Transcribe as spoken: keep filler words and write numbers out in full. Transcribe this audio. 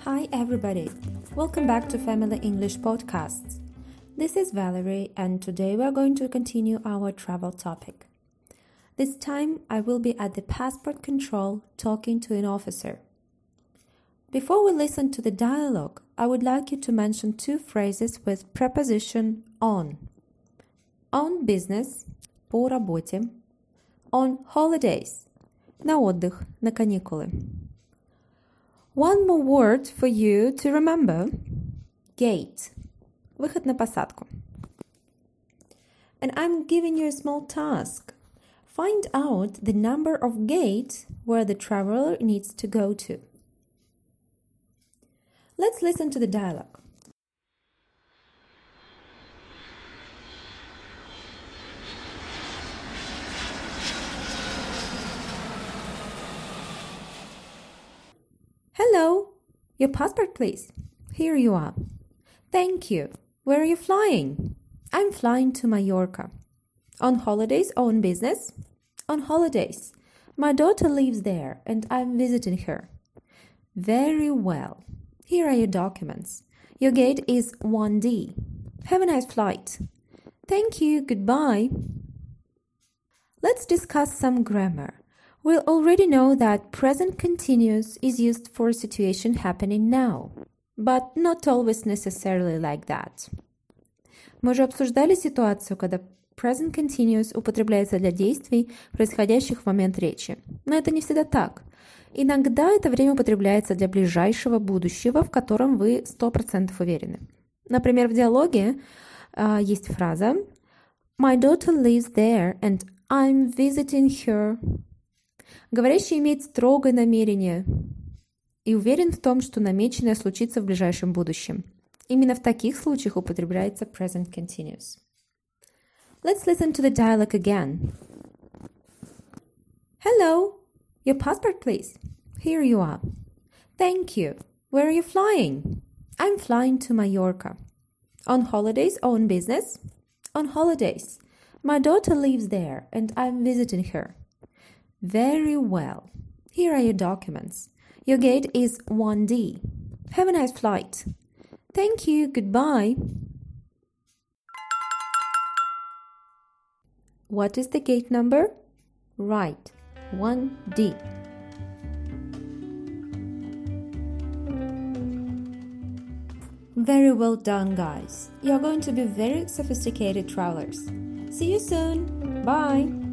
Hi everybody, welcome back to Family English Podcasts. This is Valerie and today we are going to continue our travel topic. This time I will be at the passport control talking to an officer. Before we listen to the dialogue, I would like you to mention two phrases with preposition on. On business, по работе. On holidays, на отдых, на каникулы. One more word for you to remember. Gate. Выход на посадку. And I'm giving you a small task. Find out the number of gates where the traveler needs to go to. Let's listen to the dialogue. Hello, your passport please. Here you are. Thank you. Where are you flying? I'm flying to Mallorca. On holidays or on business? On holidays. My daughter lives there and I'm visiting her. Very well. Here are your documents. Your gate is one D. Have a nice flight. Thank you. Goodbye. Let's discuss some grammar. We already know that present continuous is used for a situation happening now, but not always necessarily like that. Мы уже обсуждали ситуацию, когда present continuous употребляется для действий, происходящих в момент речи. Но это не всегда так. Иногда это время употребляется для ближайшего будущего, в котором вы сто процентов уверены. Например, в диалоге uh, есть фраза My daughter lives there and I'm visiting her. Говорящий имеет строгое намерение и уверен в том, что намеченное случится в ближайшем будущем. Именно в таких случаях употребляется present continuous. Let's listen to the dialogue again. Hello, your passport please. Here you are. Thank you. Where are you flying? I'm flying to Mallorca. On holidays or on business? On holidays. My daughter lives there and I'm visiting her. Very well. Here are your documents. Your gate is one D. Have a nice flight. Thank you. Goodbye. What is the gate number? Right, one D. Very well done, guys. You're going to be very sophisticated travelers. See you soon. Bye.